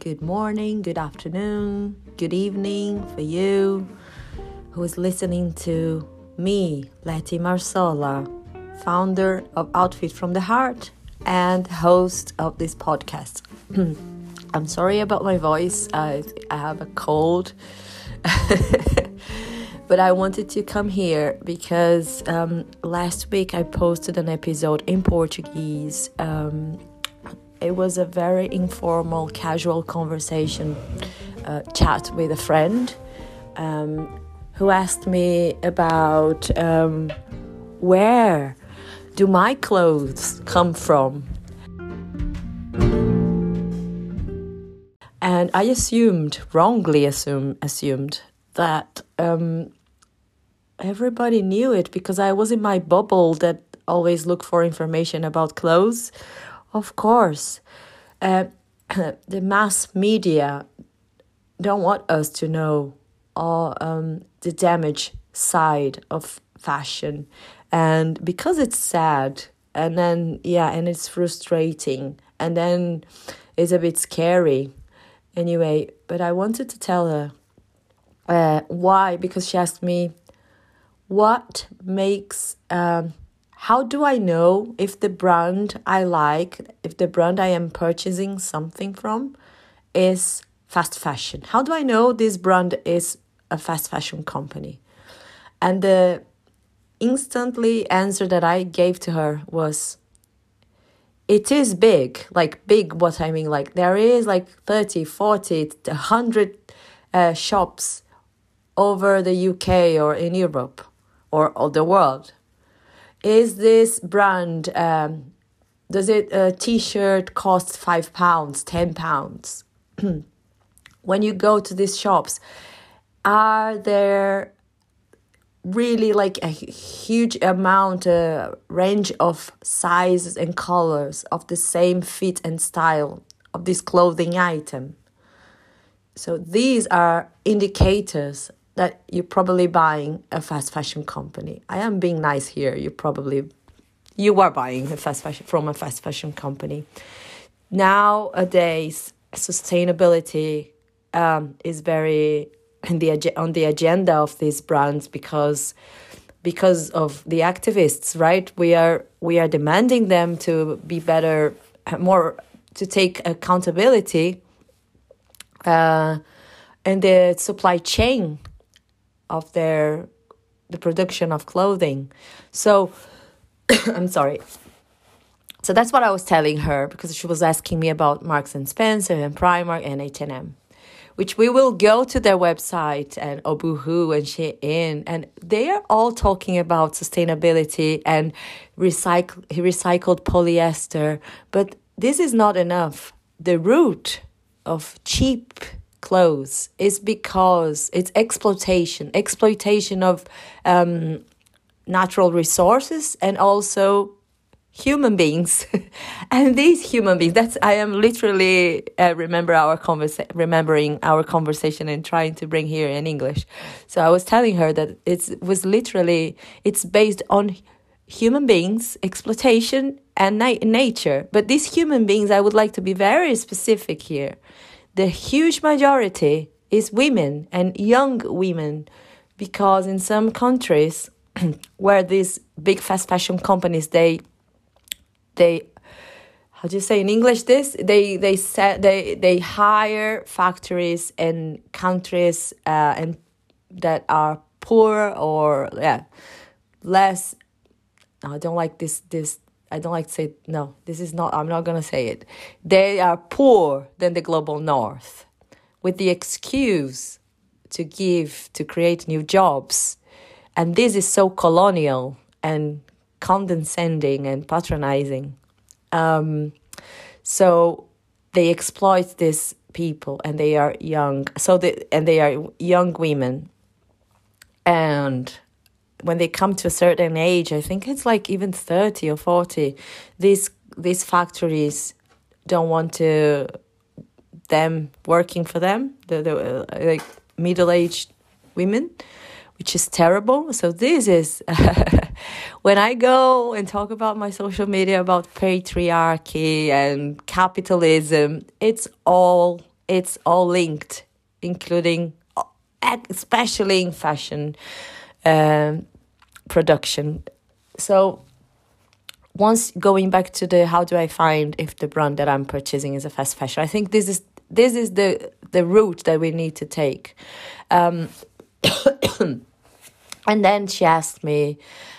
good morning, good afternoon, good evening for you who is listening to me, Letty Marsola, founder of Outfit from the Heart and host of this podcast. I'm sorry about my voice. I have a cold. But I wanted to come here because last week I posted an episode in Portuguese. It was a very informal, casual conversation, chat with a friend who asked me about where do my clothes come from? And I wrongly assumed that everybody knew it because I was in my bubble that always looked for information about clothes. Of course, the mass media don't want us to know all the damage side of fashion, and because it's sad, and then and it's frustrating, and then it's a bit scary. Anyway, but I wanted to tell her why, because she asked me what makes. How do I know if the brand I like, if the brand I am purchasing something from is fast fashion? How do I know this brand is a fast fashion company? And the instantly answer that I gave to her was, it is big. Like big, what I mean, like there is like 30, 40, 100 shops over the UK or in Europe or the world. Is this brand, does a t-shirt cost £5, £10? When you go to these shops, are there really like a huge amount, range of sizes and colors of the same fit and style of this clothing item? So these are indicators that you're probably buying a fast fashion company. I am being nice here. You are buying from a fast fashion company. Nowadays, sustainability is very on the agenda of these brands because of the activists, right? We are demanding them to be better, more to take accountability in the supply chain of the production of clothing. So, I'm sorry. So that's what I was telling her because she was asking me about Marks and Spencer and Primark and H&M, which we will go to their website and Boohoo and Shein, and they are all talking about sustainability and recycled polyester. But this is not enough. The root of cheap clothes is because it's exploitation of natural resources and also human beings. And these human beings, I am literally remembering our conversation and trying to bring here in English. So I was telling her that it's based on human beings, exploitation and nature. But these human beings, I would like to be very specific here. The huge majority is women and young women, because in some countries where these big fast fashion companies, they how do you say in English this? They hire factories in countries and that are poor or less. I don't like this. I don't like to say, no, this is not, I'm not going to say it. They are poor than the global north with the excuse to create new jobs. And this is so colonial and condescending and patronizing. So they exploit these people and they are young. They are young women. And when they come to a certain age, I think it's like even 30 or 40, these factories don't want them working for them, the like middle-aged women, which is terrible. So this is, when I go and talk about my social media about patriarchy and capitalism, it's all it's all linked, including, especially in fashion production. So once going back to the how do I find if the brand that I'm purchasing is a fast fashion, I think this is the route that we need to take. And then she asked me,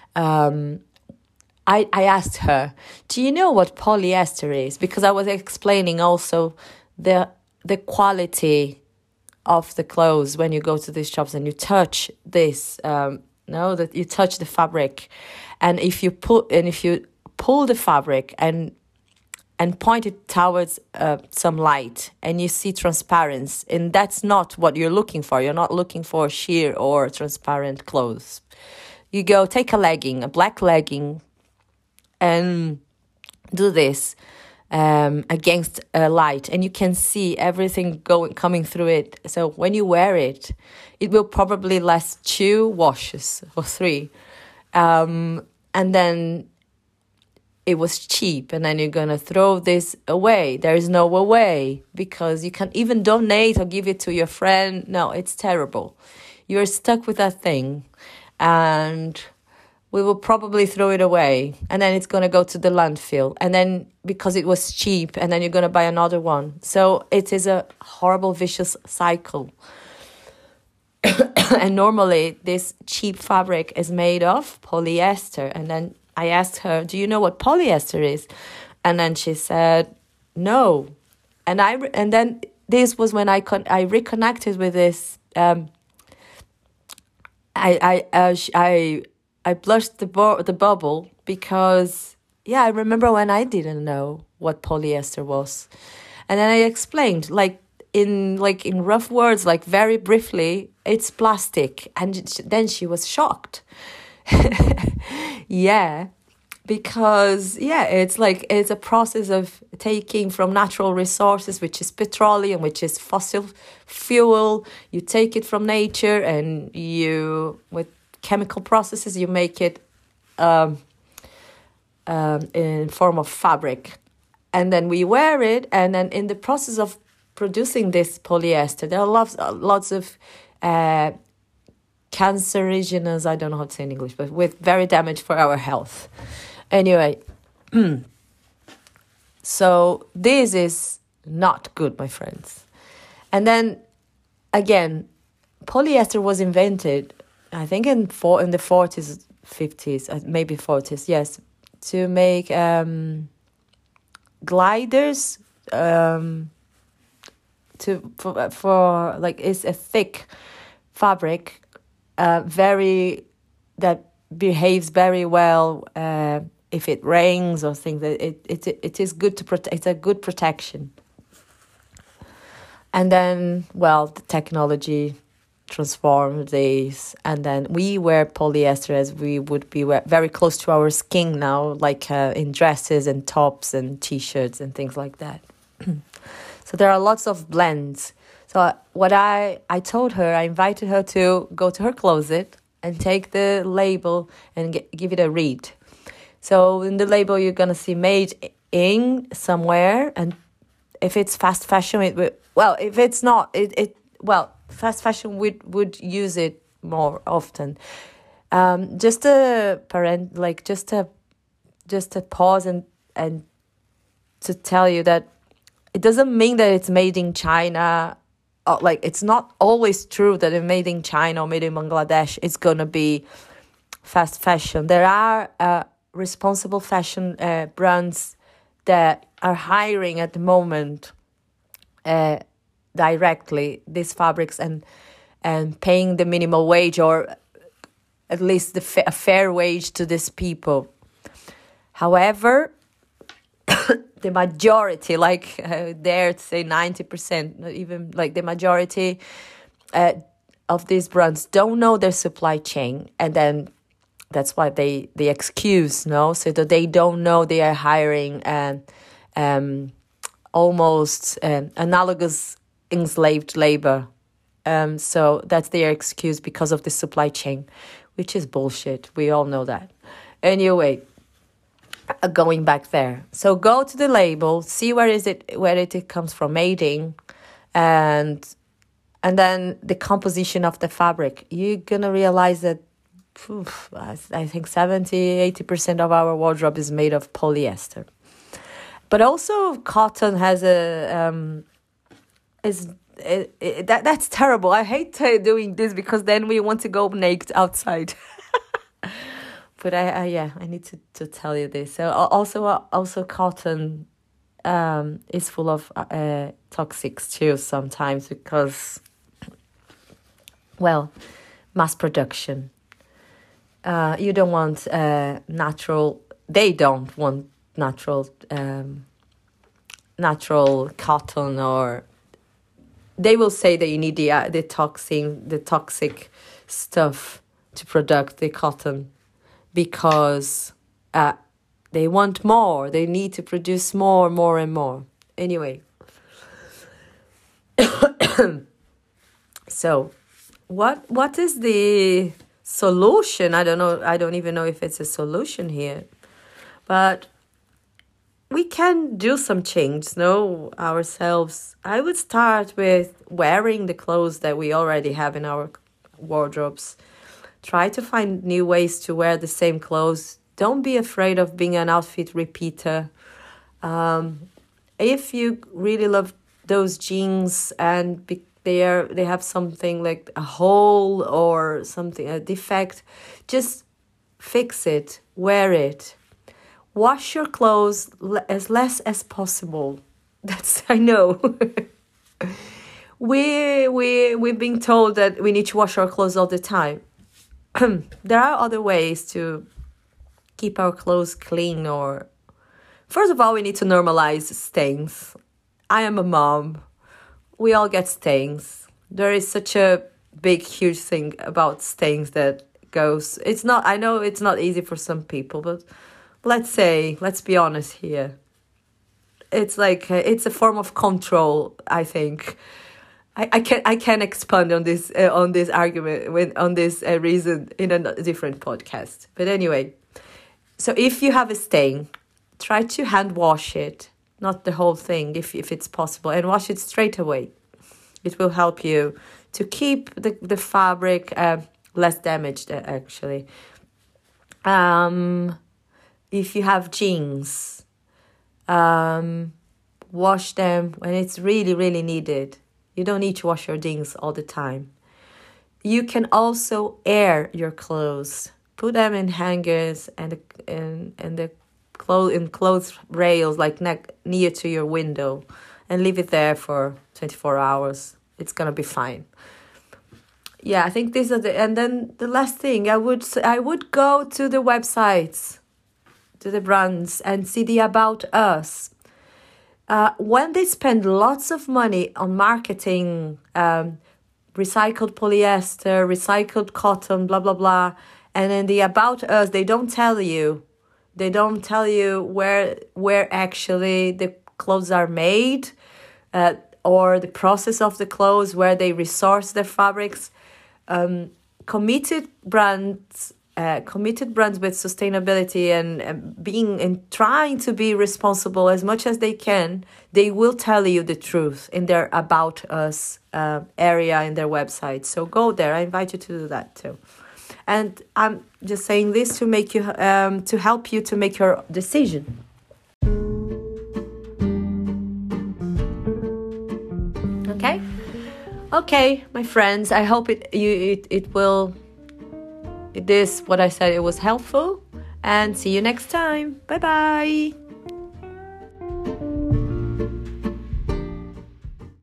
I asked her, do you know what polyester is? Because I was explaining also the quality of the clothes when you go to these shops and you touch this, that you touch the fabric, and if you pull the fabric and point it towards some light, and you see transparency, and that's not what you're looking for. You're not looking for sheer or transparent clothes. You go take a black legging, and do this against a light, and you can see everything coming through it. So when you wear it, it will probably last 2 washes or 3, and then it was cheap, and then you're gonna throw this away. There is no way, because you can't even donate or give it to your friend. No, it's terrible. You're stuck with that thing, and we will probably throw it away, and then it's going to go to the landfill, and then because it was cheap, and then you're going to buy another one. So it is a horrible vicious cycle. And normally this cheap fabric is made of polyester. And then I asked her, do you know what polyester is? And then she said no. And then this was when I reconnected with this. I blushed the bubble, because, I remember when I didn't know what polyester was. And then I explained, in rough words, very briefly, it's plastic. And then she was shocked. Because, it's a process of taking from natural resources, which is petroleum, which is fossil fuel. You take it from nature, and with chemical processes, you make it in form of fabric, and then we wear it. And then in the process of producing this polyester, there are lots of cancerogenous, I don't know how to say in English, but with very damage for our health. Anyway, so this is not good, my friends. And then again, polyester was invented, I think in the 40s, 50s, maybe 40s, yes, to make gliders, it's a thick fabric, that behaves very well if it rains or things. It is good to protect. It's a good protection. And then, the technology transformed these, and then we wear polyester as we would be very close to our skin now, in dresses and tops and t-shirts and things like that. So there are lots of blends. So what I told her, I invited her to go to her closet and take the label and give it a read. So in the label, you're going to see made in somewhere, and if it's fast fashion, if it's not, fast fashion would use it more often. Just a pause and to tell you that it doesn't mean that it's made in China. It's not always true that it's made in China or made in Bangladesh it's gonna be fast fashion. There are responsible fashion brands that are hiring at the moment directly these fabrics and paying the minimum wage, or at least a fair wage to these people. However, the majority, dare to say 90%, not even the majority of these brands don't know their supply chain, and then that's why they excuse, so that they don't know they are hiring almost analogous enslaved labor. So that's their excuse because of the supply chain, which is bullshit. We all know that. Anyway, going back there. So go to the label, see where it comes from, made in, and then the composition of the fabric. You're gonna realize that I think 70-80% of our wardrobe is made of polyester. But also cotton has that's terrible. I hate doing this because then we want to go naked outside. But I need to tell you this. So also cotton is full of toxics too sometimes because, well, mass production. You don't want natural. They don't want natural cotton, or they will say that you need the toxic stuff to produce the cotton because they want more. They need to produce more and more. Anyway, so what is the solution? I don't know. I don't even know if it's a solution here, but we can do some change, ourselves. I would start with wearing the clothes that we already have in our wardrobes. Try to find new ways to wear the same clothes. Don't be afraid of being an outfit repeater. If you really love those jeans and they have something like a hole or something, a defect, just fix it, wear it. Wash your clothes as less as possible. That's, I know. We've been told that we need to wash our clothes all the time. There are other ways to keep our clothes clean. Or first of all, we need to normalize stains. I am a mom. We all get stains. There is such a big, huge thing about stains that goes. I know it's not easy for some people, but let's be honest here. It's like it's a form of control. I think I can expand on this argument on this reason in a different podcast. But anyway, so if you have a stain, try to hand wash it, not the whole thing, if it's possible, and wash it straight away. It will help you to keep the fabric less damaged. Actually, if you have jeans, wash them when it's really, really needed. You don't need to wash your jeans all the time. You can also air your clothes. Put them in hangers and the clothes rails, like near to your window, and leave it there for 24 hours. It's gonna be fine. Yeah, I think these are and then the last thing, I would go to the websites, to the brands, and see the About Us. When they spend lots of money on marketing, recycled polyester, recycled cotton, blah, blah, blah, and then the About Us, they don't tell you where actually the clothes are made, or the process of the clothes, where they resource their fabrics. Committed brands with sustainability and trying to be responsible as much as they can, they will tell you the truth in their About Us area in their website. So go there. I invite you to do that too. And I'm just saying this to make you to help you to make your decision. Okay, my friends. I hope it will. What I said, it was helpful. And see you next time. Bye bye.